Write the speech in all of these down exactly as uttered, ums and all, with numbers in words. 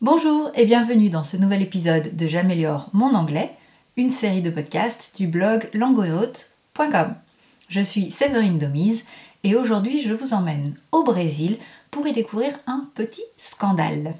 Bonjour et bienvenue dans ce nouvel épisode de J'améliore mon anglais, une série de podcasts du blog langonaute point com. Je suis Séverine Domise et aujourd'hui je vous emmène au Brésil pour y découvrir un petit scandale.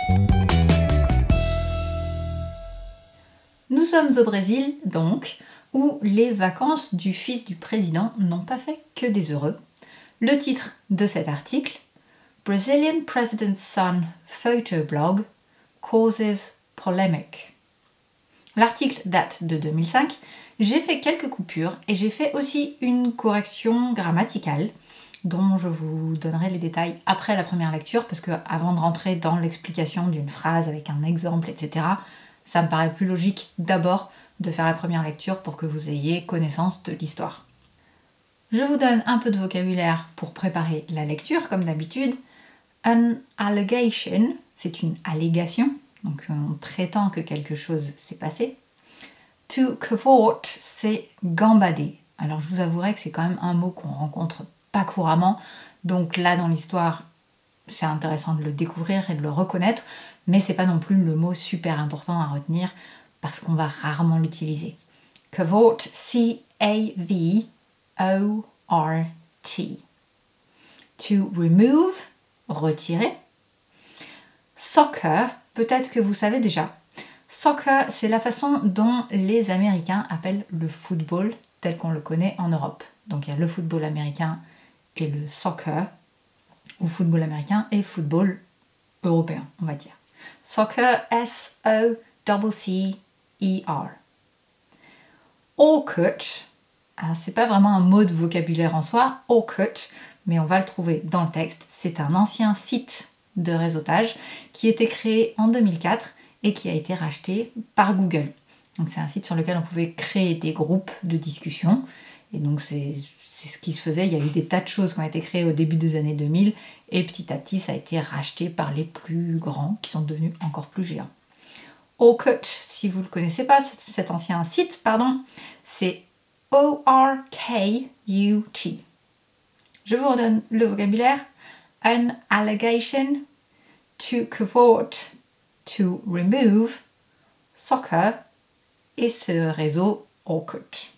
Nous sommes au Brésil donc, où les vacances du fils du président n'ont pas fait que des heureux. Le titre de cet article, Brazilian President's Son Photo Blog Causes Polemic. L'article date de deux mille cinq, j'ai fait quelques coupures et j'ai fait aussi une correction grammaticale dont je vous donnerai les détails après la première lecture parce que avant de rentrer dans l'explication d'une phrase avec un exemple, et cetera, ça me paraît plus logique d'abord de faire la première lecture pour que vous ayez connaissance de l'histoire. Je vous donne un peu de vocabulaire pour préparer la lecture comme d'habitude. An allegation, c'est une allégation, donc on prétend que quelque chose s'est passé. To cavort, c'est gambader. Alors je vous avouerai que c'est quand même un mot qu'on rencontre pas couramment, donc là dans l'histoire, c'est intéressant de le découvrir et de le reconnaître, mais c'est pas non plus le mot super important à retenir parce qu'on va rarement l'utiliser. Cavort, C A V O R T. To remove, retirer. Soccer, peut-être que vous savez déjà. Soccer, c'est la façon dont les Américains appellent le football tel qu'on le connaît en Europe. Donc il y a le football américain et le soccer, ou football américain et football européen, on va dire. Soccer, S O C C E R. Orkut, alors c'est pas vraiment un mot de vocabulaire en soi, Orkut, mais on va le trouver dans le texte. C'est un ancien site de réseautage qui a été créé en deux mille quatre et qui a été racheté par Google. Donc c'est un site sur lequel on pouvait créer des groupes de discussion. Et donc c'est, c'est ce qui se faisait. Il y a eu des tas de choses qui ont été créées au début des années deux mille et petit à petit ça a été racheté par les plus grands qui sont devenus encore plus géants. Orkut, si vous ne le connaissez pas, cet ancien site, pardon, c'est O R K U T. Je vous redonne le vocabulaire. An allegation, to cavort, to remove, soccer et ce réseau Orkut.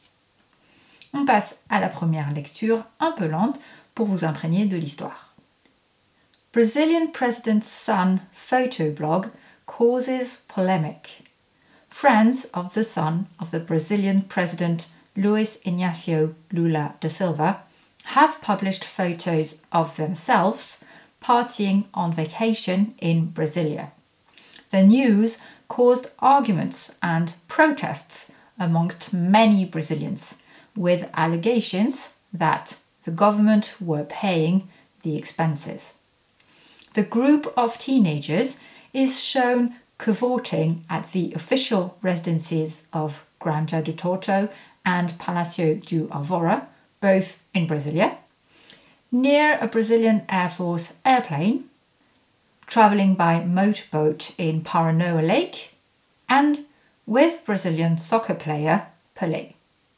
On passe à la première lecture un peu lente pour vous imprégner de l'histoire. Brazilian President's Son Photo Blog Causes Polemic. Friends of the son of the Brazilian President Luiz Inácio Lula da Silva have published photos of themselves partying on vacation in Brasilia. The news caused arguments and protests amongst many Brazilians, with allegations that the government were paying the expenses. The group of teenagers is shown cavorting at the official residences of Granja do Torto and Palacio do Alvorada, both in Brasilia, near a Brazilian Air Force airplane, travelling by motorboat in Paranoa Lake, and with Brazilian soccer player Pelé.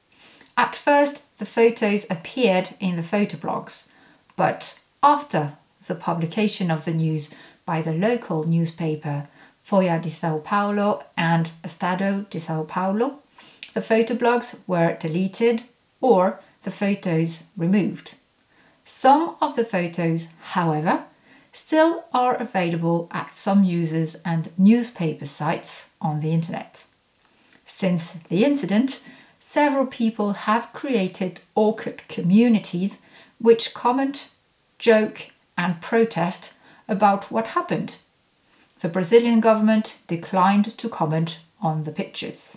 At first, the photos appeared in the photoblogs, but after the publication of the news by the local newspaper Folha de São Paulo and Estado de São Paulo, the photoblogs were deleted or the photos removed. Some of the photos, however, still are available at some users and newspaper sites on the internet. Since the incident, several people have created Orkut communities which comment, joke, and protest about what happened. The Brazilian government declined to comment on the pictures.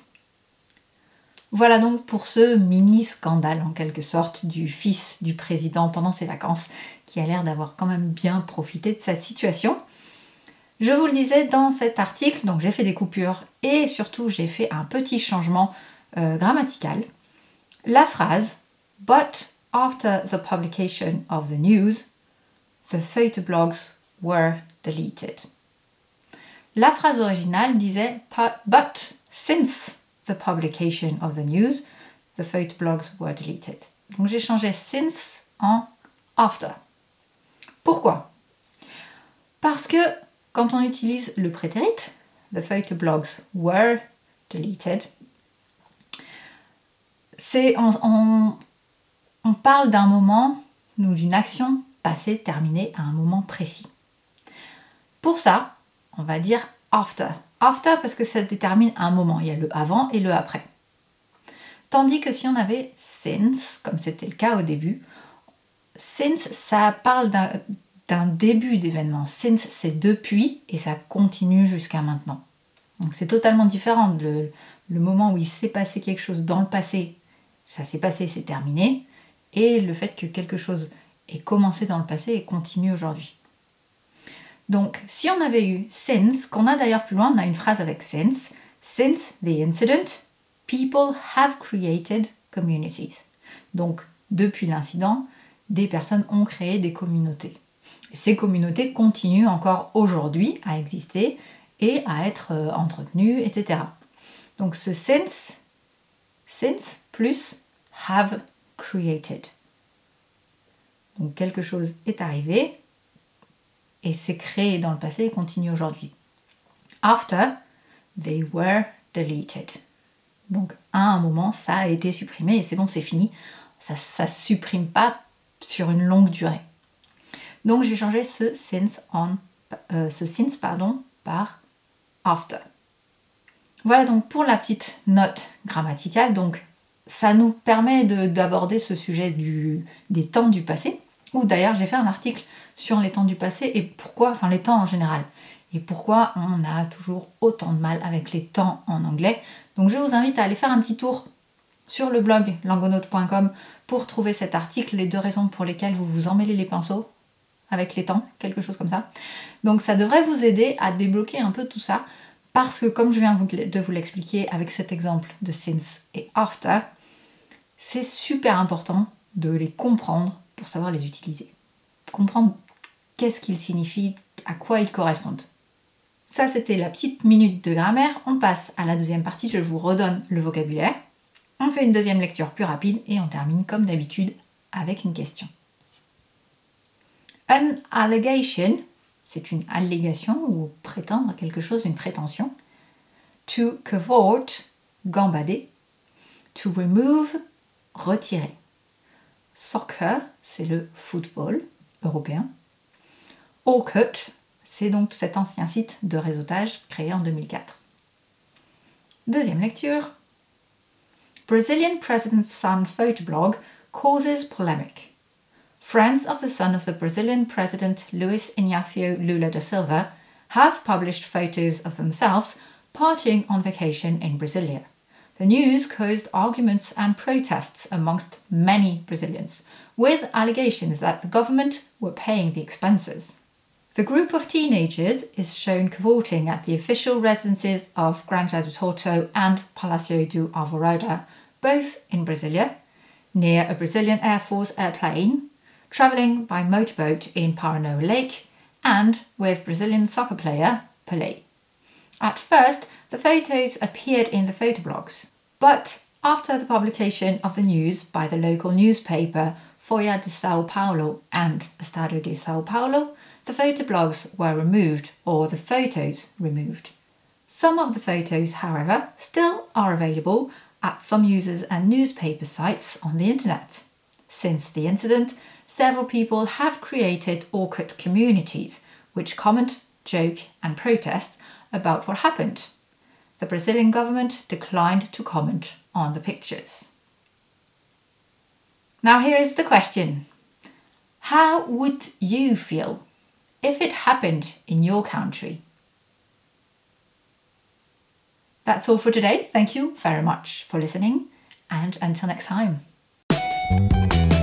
Voilà donc pour ce mini-scandale en quelque sorte du fils du président pendant ses vacances qui a l'air d'avoir quand même bien profité de cette situation. Je vous le disais dans cet article, donc j'ai fait des coupures et surtout j'ai fait un petit changement euh, grammatical. La phrase « But after the publication of the news, the photoblogs were deleted ». La phrase originale disait « But since the publication of the news, the photoblogs were deleted ». Donc j'ai changé « since » en « after ». Pourquoi ? Parce que quand on utilise le prétérit, the photo blogs were deleted, c'est on, on, on parle d'un moment ou d'une action passée, terminée à un moment précis. Pour ça, on va dire after. After parce que ça détermine un moment. Il y a le avant et le après. Tandis que si on avait since, comme c'était le cas au début, since, ça parle d'un, d'un début d'événement. Since, c'est depuis et ça continue jusqu'à maintenant. Donc c'est totalement différent. Le, le moment où il s'est passé quelque chose dans le passé, ça s'est passé, c'est terminé. Et le fait que quelque chose ait commencé dans le passé et continue aujourd'hui. Donc, si on avait eu since, qu'on a d'ailleurs plus loin, on a une phrase avec since. Since the incident, people have created communities. Donc, depuis l'incident, des personnes ont créé des communautés. Et ces communautés continuent encore aujourd'hui à exister et à être euh, entretenues, et cetera. Donc, ce since, since plus have created. Donc, quelque chose est arrivé et c'est créé dans le passé et continue aujourd'hui. After, they were deleted. Donc, à un moment, ça a été supprimé et c'est bon, c'est fini. Ça ne supprime pas sur une longue durée. Donc, j'ai changé ce since, on, euh, ce since pardon, par after. Voilà donc pour la petite note grammaticale. Donc, ça nous permet de, d'aborder ce sujet du, des temps du passé. Ou d'ailleurs, j'ai fait un article sur les temps du passé et pourquoi, enfin les temps en général, et pourquoi on a toujours autant de mal avec les temps en anglais. Donc je vous invite à aller faire un petit tour sur le blog langonaute point com pour trouver cet article, les deux raisons pour lesquelles vous vous emmêlez les pinceaux avec les temps, quelque chose comme ça. Donc ça devrait vous aider à débloquer un peu tout ça, parce que comme je viens de vous l'expliquer avec cet exemple de since et after, c'est super important de les comprendre pour savoir les utiliser. Comprendre qu'est-ce qu'ils signifient, à quoi ils correspondent. Ça, c'était la petite minute de grammaire. On passe à la deuxième partie, je vous redonne le vocabulaire. On fait une deuxième lecture plus rapide et on termine comme d'habitude avec une question. An allegation, c'est une allégation ou prétendre quelque chose, une prétention. To cavort, gambader. To remove, retirer. Soccer, c'est le football européen. Orkut, c'est donc cet ancien site de réseautage créé en deux mille quatre. Deuxième lecture. Brazilian president's son photoblog causes polemic. Friends of the son of the Brazilian president Luiz Inácio Lula da Silva have published photos of themselves partying on vacation in Brasilia. The news caused arguments and protests amongst many Brazilians, with allegations that the government were paying the expenses. The group of teenagers is shown cavorting at the official residences of Granja do Torto and Palácio do Alvorada, both in Brasilia, near a Brazilian Air Force airplane, travelling by motorboat in Paranoa Lake, and with Brazilian soccer player Pelé. At first, the photos appeared in the photoblogs, but after the publication of the news by the local newspaper Folha de São Paulo and Estado de São Paulo, the photoblogs were removed, or the photos removed. Some of the photos, however, still are available at some users and newspaper sites on the internet. Since the incident, several people have created Orkut communities which comment, joke and protest about what happened. The Brazilian government declined to comment on the pictures. Now here is the question. How would you feel if it happened in your country? That's all for today. Thank you very much for listening, and until next time.